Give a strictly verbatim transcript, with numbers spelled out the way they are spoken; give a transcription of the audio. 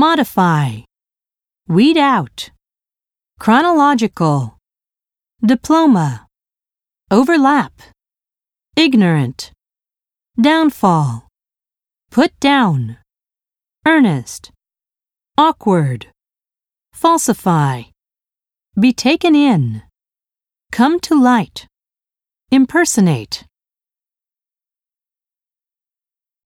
modify, weed out, chronological, diploma, overlap, ignorant, downfall, put down, earnest, awkward, falsify, be taken in, come to light, impersonate.